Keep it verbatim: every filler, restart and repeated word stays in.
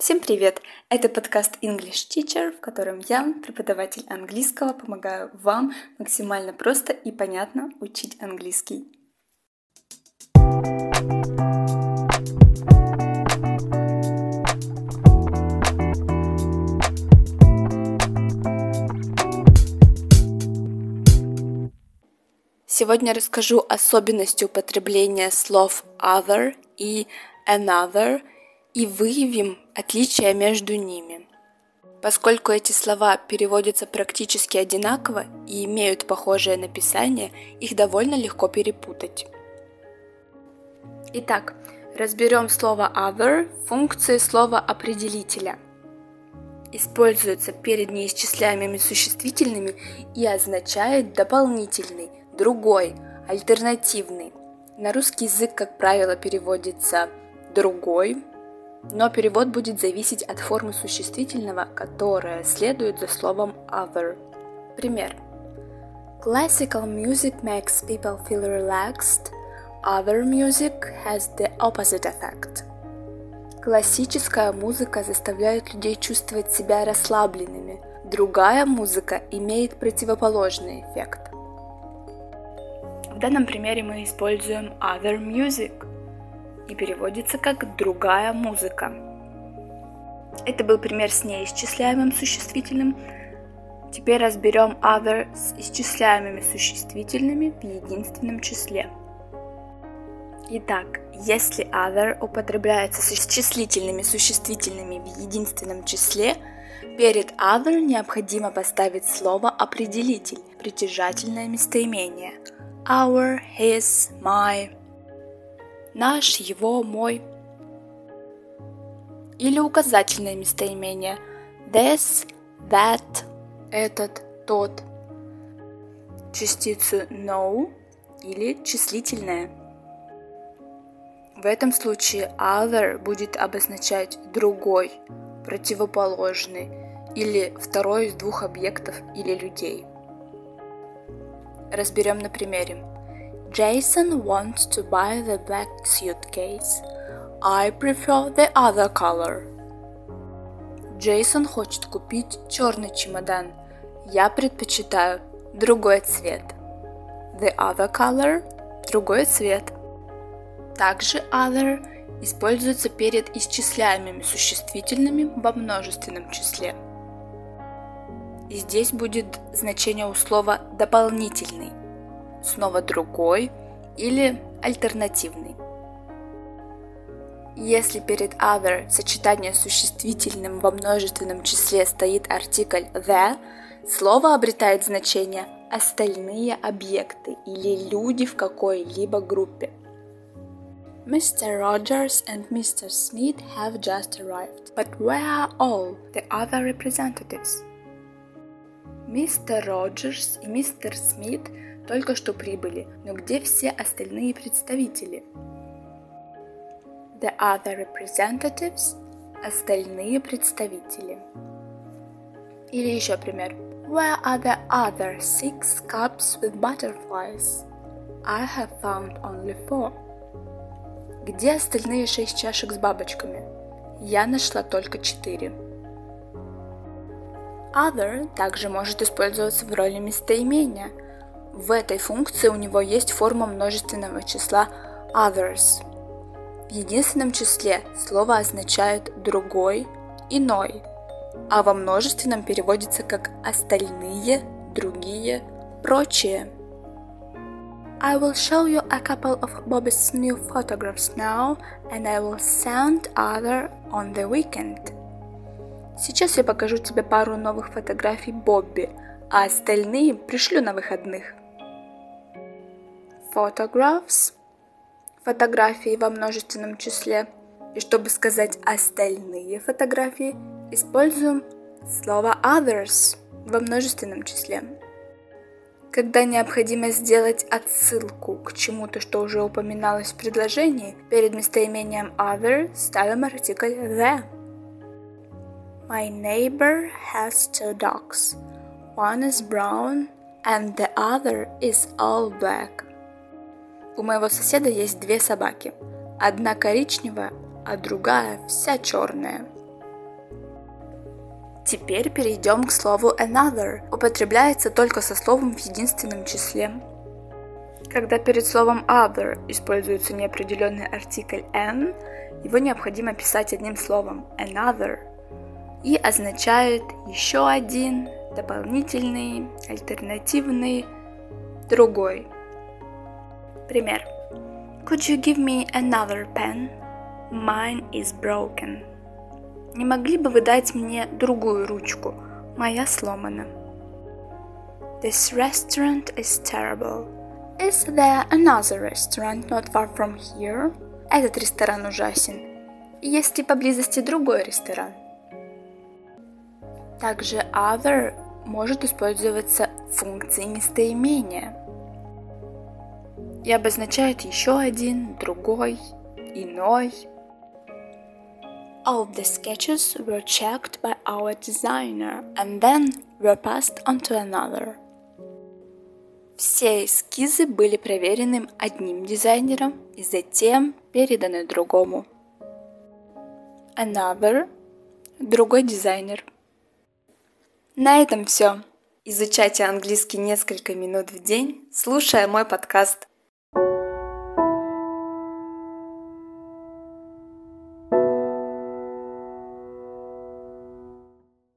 Всем привет! Это подкаст English Teacher, в котором я, преподаватель английского, помогаю вам максимально просто и понятно учить английский. Сегодня расскажу особенности употребления слов other и another и выявим отличия между ними. Поскольку эти слова переводятся практически одинаково и имеют похожее написание, их довольно легко перепутать. Итак, разберем слово other в функции слова определителя. Используется перед неисчисляемыми существительными и означает дополнительный, другой, альтернативный. На русский язык, как правило, переводится другой, но перевод будет зависеть от формы существительного, которая следует за словом other. Пример. Classical music makes people feel relaxed. Other music has the opposite effect. Классическая музыка заставляет людей чувствовать себя расслабленными. Другая музыка имеет противоположный эффект. В данном примере мы используем other music и переводится как «другая музыка». Это был пример с неисчисляемым существительным. Теперь разберем other с исчисляемыми существительными в единственном числе. Итак, если other употребляется с числительными существительными в единственном числе, перед other необходимо поставить слово определитель, притяжательное местоимение. Our, his, my. Наш, его, мой. Или указательное местоимение. This, that, этот, тот. Частицу no или числительное. В этом случае other будет обозначать другой, противоположный или второй из двух объектов или людей. Разберем на примере. Jason wants to buy the black suitcase. I prefer the other color. Джейсон хочет купить черный чемодан. Я предпочитаю другой цвет. The other color – другой цвет. Также other используется перед исчисляемыми существительными во множественном числе. И здесь будет значение у слова дополнительный. Снова другой или альтернативный. Если перед other в сочетании с существительным во множественном числе стоит артикль the, слово обретает значение остальные объекты или люди в какой-либо группе. Mr. Rogers and Mister Smith have just arrived, but where are all the other representatives? Мистер Роджерс и мистер Смит только что прибыли, но где все остальные представители? The other representatives – остальные представители. Или еще пример. Where are the other six cups with butterflies? I have found only four. Где остальные шесть чашек с бабочками? Я нашла только четыре. Other также может использоваться в роли местоимения. В этой функции у него есть форма множественного числа others. В единственном числе слово означает другой, иной, а во множественном переводится как остальные, другие, прочие. I will show you a couple of Bobby's new photographs now, and I will send other on the weekend. Сейчас я покажу тебе пару новых фотографий Бобби, а остальные пришлю на выходных. Photographs – фотографии во множественном числе. И чтобы сказать остальные фотографии, используем слово others во множественном числе. Когда необходимо сделать отсылку к чему-то, что уже упоминалось в предложении, перед местоимением other ставим артикль the. My neighbor has two dogs. One is brown and the other is all black. У моего соседа есть две собаки. Одна коричневая, а другая вся черная. Теперь перейдем к слову another. Употребляется только со словом в единственном числе. Когда перед словом other используется неопределенный артикль an, его необходимо писать одним словом another и означает еще один, дополнительный, альтернативный, другой. Пример. Could you give me another pen? Mine is broken. Не могли бы вы дать мне другую ручку? Моя сломана. This restaurant is terrible. Is there another restaurant not far from here? Этот ресторан ужасен. Есть ли поблизости другой ресторан? Также other может использоваться в функции местоимения и обозначает еще один, другой, иной. All the sketches were checked by our designer and then were passed on to another. Все эскизы были проверены одним дизайнером и затем переданы другому. Another – другой дизайнер. На этом все. Изучайте английский несколько минут в день, слушая мой подкаст.